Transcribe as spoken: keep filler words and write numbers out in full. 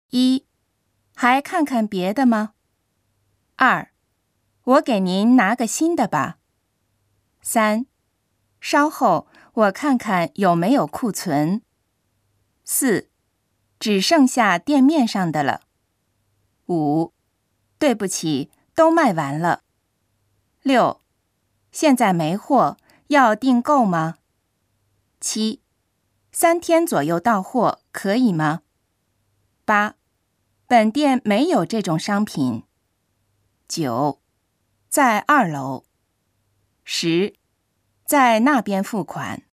一，还看看别的吗？二，我给您拿个新的吧。三，稍后我看看有没有库存。四，只剩下店面上的了。五，对不起，都卖完了。六，现在没货，要订购吗？七，三天左右到货，可以吗？八，本店没有这种商品。九，在二楼。十，在那边付款。